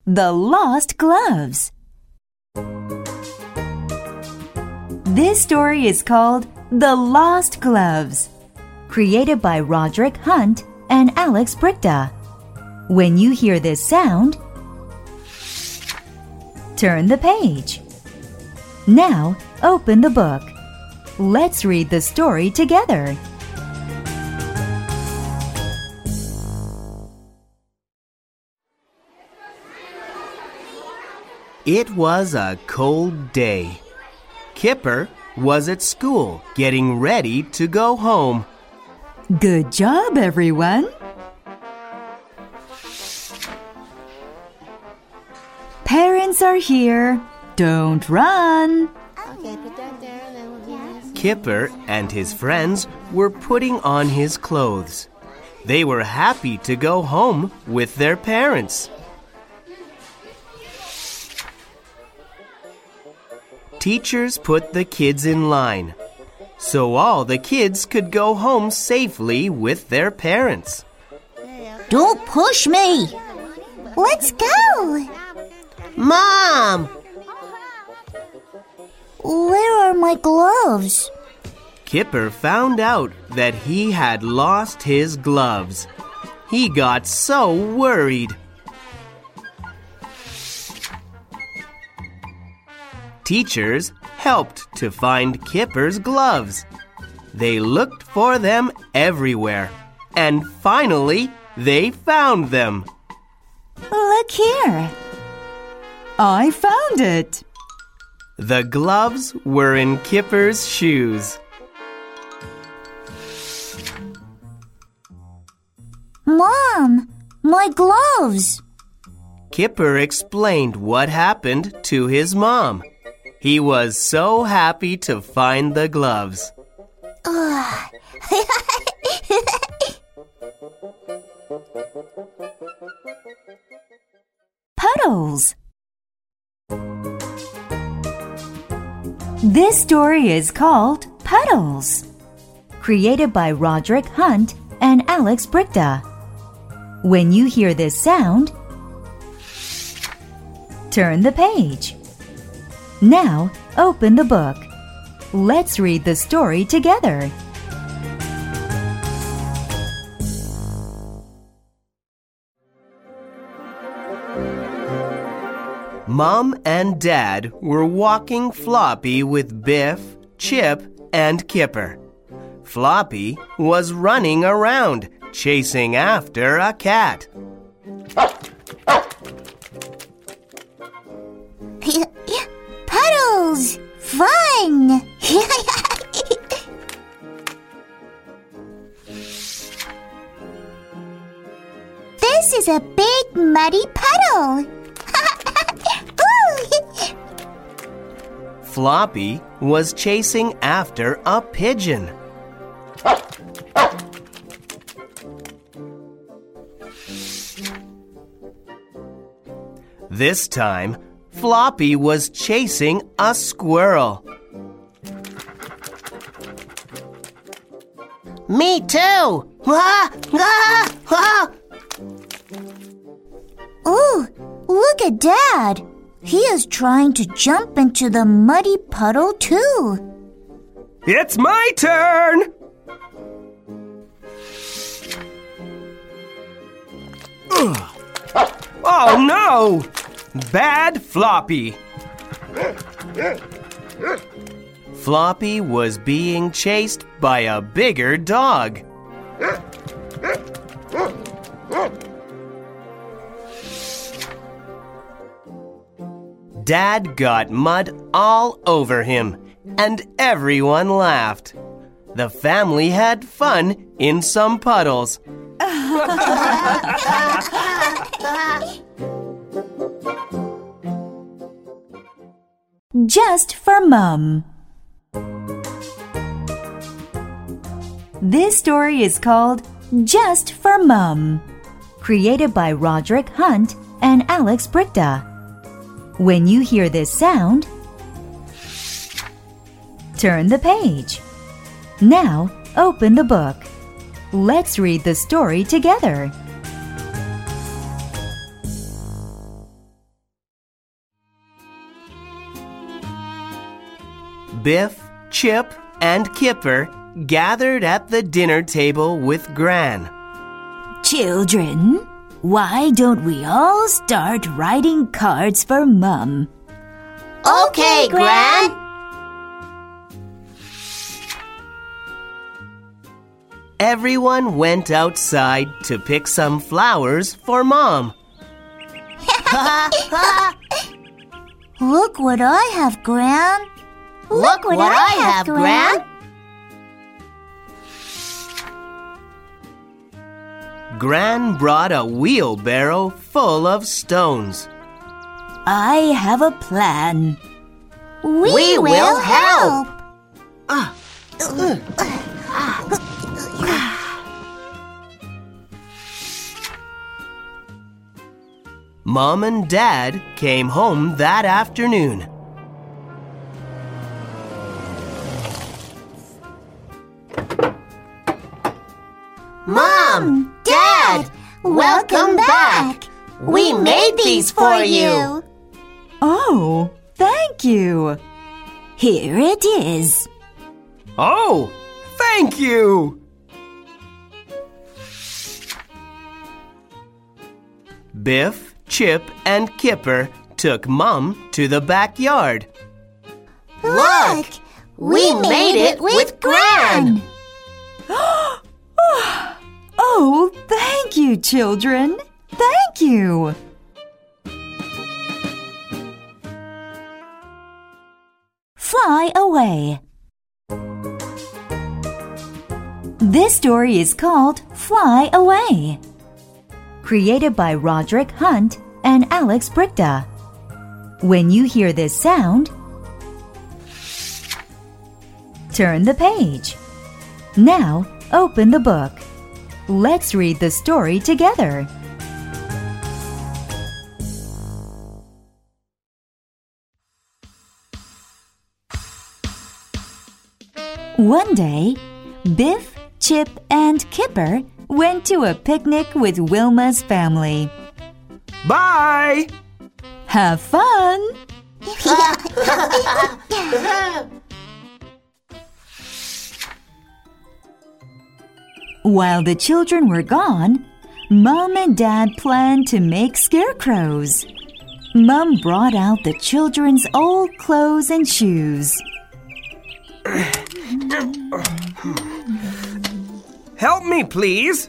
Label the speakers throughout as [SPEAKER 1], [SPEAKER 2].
[SPEAKER 1] The Lost Gloves. This story is called The Lost Gloves, created by Roderick Hunt and Alex Brichta. When you hear this sound, turn the page. Now, open the book. Let's read the story together.
[SPEAKER 2] It was a cold day. Kipper was at school getting ready to go home.
[SPEAKER 1] Good job, everyone. Parents are here. Don't run.
[SPEAKER 2] Kipper and his friends were putting on his clothes. They were happy to go home with their parents. Teachers put the kids in line, so all the kids could go home safely with their parents.
[SPEAKER 3] Don't push me! Let's go! Mom! Where are my gloves?
[SPEAKER 2] Kipper found out that he had lost his gloves. He got so worried. Teachers helped to find Kipper's gloves. They looked for them everywhere, and finally, they found them.
[SPEAKER 1] Look here. I found it.
[SPEAKER 2] The gloves were in Kipper's shoes.
[SPEAKER 3] Mom, my gloves!
[SPEAKER 2] Kipper explained what happened to his mom. He was so happy to find the gloves.
[SPEAKER 1] Puddles. This story is called Puddles, created by Roderick Hunt and Alex Brichta. When you hear this sound, turn the page. Now, open the book. Let's read the story together.
[SPEAKER 2] Mom and Dad were walking Floppy with Biff, Chip, and Kipper. Floppy was running around, chasing after a cat.
[SPEAKER 3] Puddles! Fun! This is a big muddy puddle!
[SPEAKER 2] Floppy was chasing after a pigeon. This time, Floppy was chasing a squirrel. Me too!
[SPEAKER 3] Ooh, look at Dad! He is trying to jump into the muddy puddle too.
[SPEAKER 2] It's my turn! Oh no! Bad Floppy! Floppy was being chased by a bigger dog. Dad got mud all over him, and everyone laughed. The family had fun in some puddles.
[SPEAKER 1] Just for Mom. This story is called Just for Mom, created by Roderick Hunt and Alex Brichta. When you hear this sound, turn the page. Now, open the book. Let's read the story together.
[SPEAKER 2] Biff, Chip, and Kipper gathered at the dinner table with Gran.
[SPEAKER 1] Children, why don't we all start writing cards for Mom?
[SPEAKER 3] Okay, Gran.
[SPEAKER 2] Everyone went outside to pick some flowers for Mom.
[SPEAKER 3] Look what I have, Gran. Look what I have, Gran.
[SPEAKER 2] Gran brought a wheelbarrow full of stones.
[SPEAKER 1] I have a plan.
[SPEAKER 3] We will help.
[SPEAKER 2] Mom and Dad came home that afternoon.
[SPEAKER 3] Mom, Dad, welcome back. We made these for you.
[SPEAKER 1] Oh, thank you. Here it is.
[SPEAKER 2] Oh, thank you! Biff, Chip, and Kipper took Mom to the backyard.
[SPEAKER 3] Look, we made it with Gran.
[SPEAKER 1] Oh, thank you, children. Thank you. Fly away. This story is called Fly Away. Created by Roderick Hunt and Alex Brichta. When you hear this sound, turn the page. Now, open the book. Let's read the story together. One day, Biff, Chip, and Kipper went to a picnic with Wilma's family.
[SPEAKER 2] Bye!
[SPEAKER 1] Have fun! While the children were gone, Mom and Dad planned to make scarecrows. Mom brought out the children's old clothes and shoes.
[SPEAKER 2] Help me, please.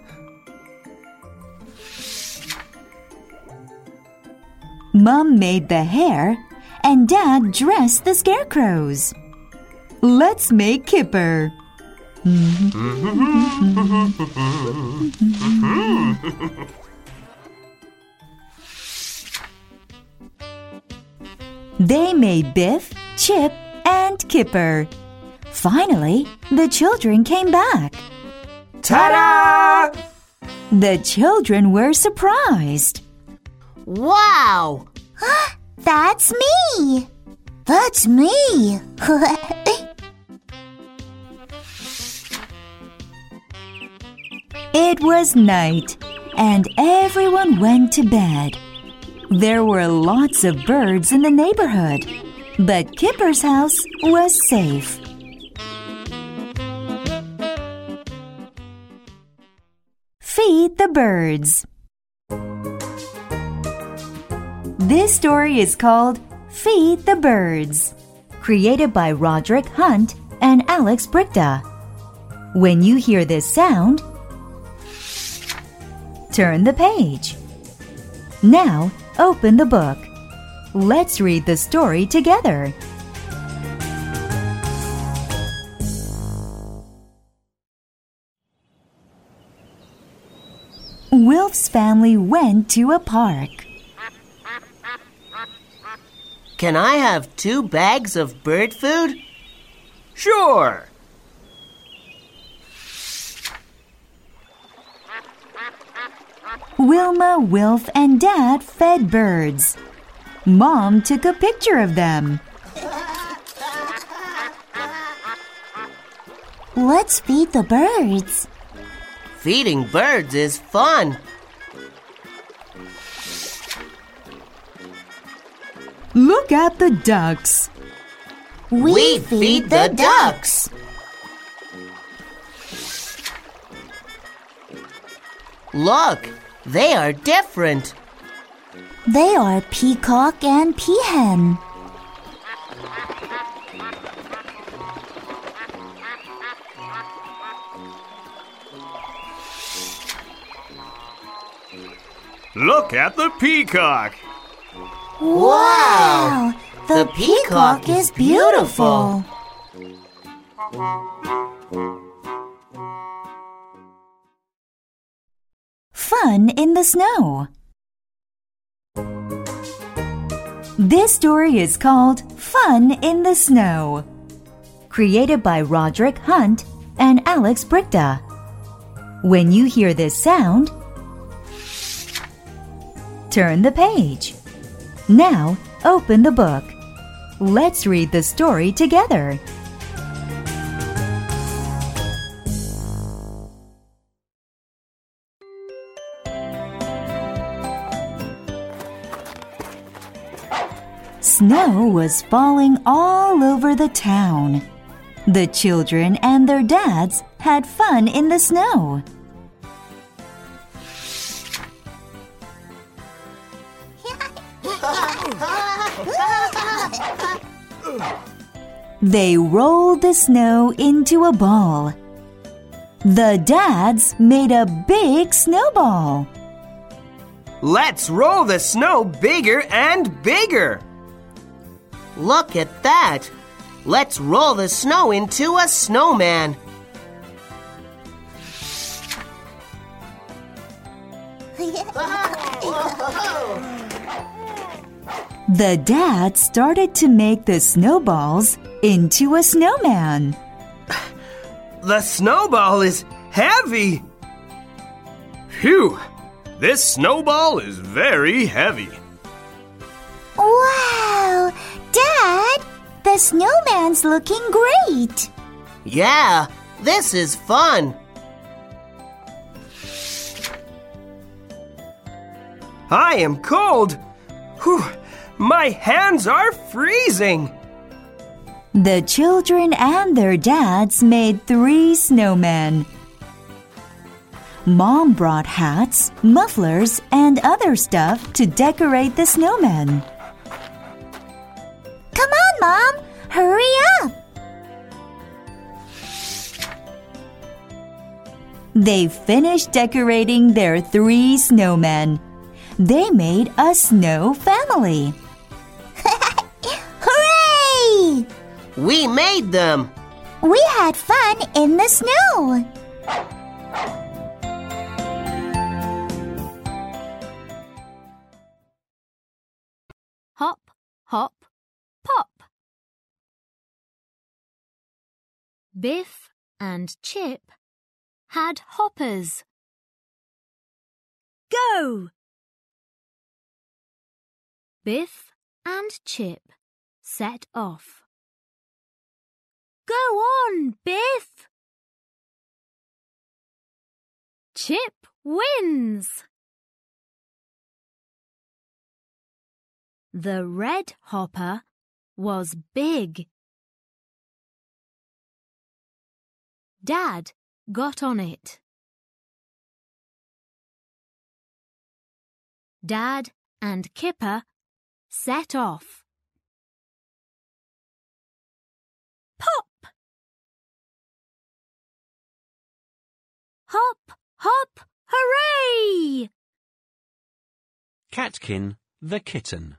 [SPEAKER 1] Mom made the hair, and Dad dressed the scarecrows. Let's make Kipper. They made Biff, Chip, and Kipper. Finally, the children came back.
[SPEAKER 2] Ta-da!
[SPEAKER 1] The children were surprised.
[SPEAKER 3] Wow! That's me! That's me!
[SPEAKER 1] It was night, and everyone went to bed. There were lots of birds in the neighborhood, but Kipper's house was safe. Feed the birds. This story is called Feed the Birds, created by Roderick Hunt and Alex Brichta. When you hear this sound, turn the page. Now, open the book. Let's read the story together. Wilf's family went to a park.
[SPEAKER 2] Can I have 2 bags of bird food? Sure.
[SPEAKER 1] Wilma, Wilf, and Dad fed birds. Mom took a picture of them.
[SPEAKER 3] Let's feed the birds.
[SPEAKER 2] Feeding birds is fun.
[SPEAKER 1] Look at the ducks.
[SPEAKER 3] We feed the ducks.
[SPEAKER 2] Look, they are different.
[SPEAKER 3] They are peacock and peahen.
[SPEAKER 2] Look at the peacock.
[SPEAKER 3] Wow! The peacock is beautiful.
[SPEAKER 1] Fun in the snow. This story is called Fun in the Snow, created by Roderick Hunt and Alex Brichta. When you hear this sound, turn the page. Now, open the book. Let's read the story together. Snow was falling all over the town. The children and their dads had fun in the snow. They rolled the snow into a ball. The dads made a big snowball.
[SPEAKER 2] Let's roll the snow bigger and bigger. Look at that. Let's roll the snow into a snowman.
[SPEAKER 1] The dad started to make the snowballs into a snowman.
[SPEAKER 2] The snowball is heavy. Phew! This snowball is very heavy.
[SPEAKER 3] Wow! Dad, the snowman's looking great.
[SPEAKER 2] Yeah, this is fun. I am cold. Whew, my hands are freezing.
[SPEAKER 1] The children and their dads made 3 snowmen. Mom brought hats, mufflers, and other stuff to decorate the snowmen.
[SPEAKER 3] Come on, Mom, hurry up.
[SPEAKER 1] They finished decorating their 3 snowmen. They made a snow family.
[SPEAKER 3] Hooray!
[SPEAKER 2] We made them.
[SPEAKER 3] We had fun in the snow.
[SPEAKER 4] Hop, hop, pop. Biff and Chip had hoppers. Go! Biff and Chip set off. Go on, Biff! Chip wins! The red hopper was big. Dad got on it. Dad and Kipper set off. Pop! Hop, hop, hooray!
[SPEAKER 5] Catkin the kitten.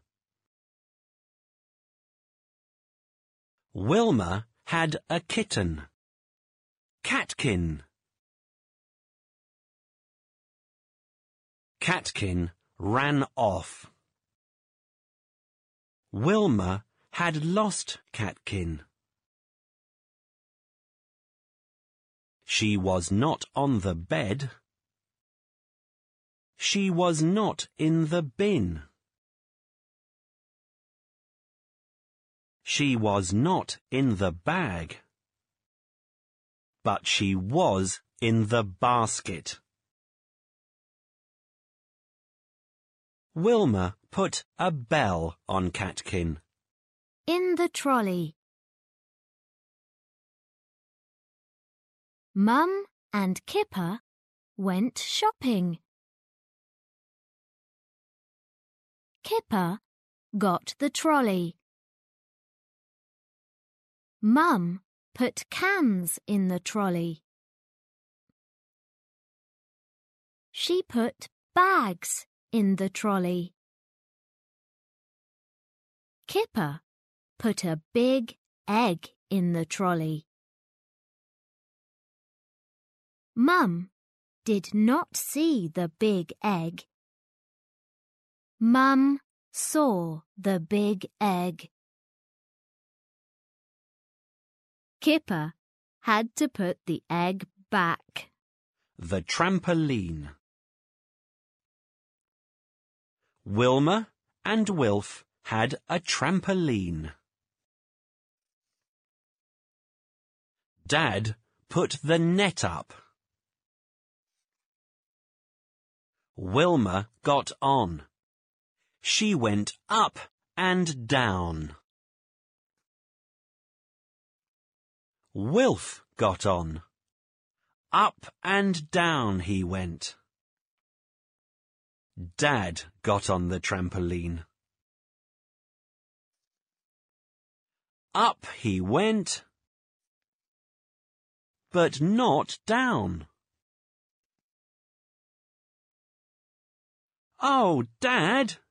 [SPEAKER 5] Wilma had a kitten. Catkin. Catkin ran off. Wilma had lost Catkin. She was not on the bed. She was not in the bin. She was not in the bag. But she was in the basket. Wilma put a bell on Catkin.
[SPEAKER 4] In the trolley. Mum and Kipper went shopping. Kipper got the trolley. Mum put cans in the trolley. She put bags in the trolley. Kipper put a big egg in the trolley. Mum did not see the big egg. Mum saw the big egg. Kipper had to put the egg back.
[SPEAKER 5] The trampoline. Wilma and Wilf had a trampoline. Dad put the net up. Wilma got on. She went up and down. Wilf got on. Up and down he went. Dad got on the trampoline. Up he went, but not down. Oh, Dad!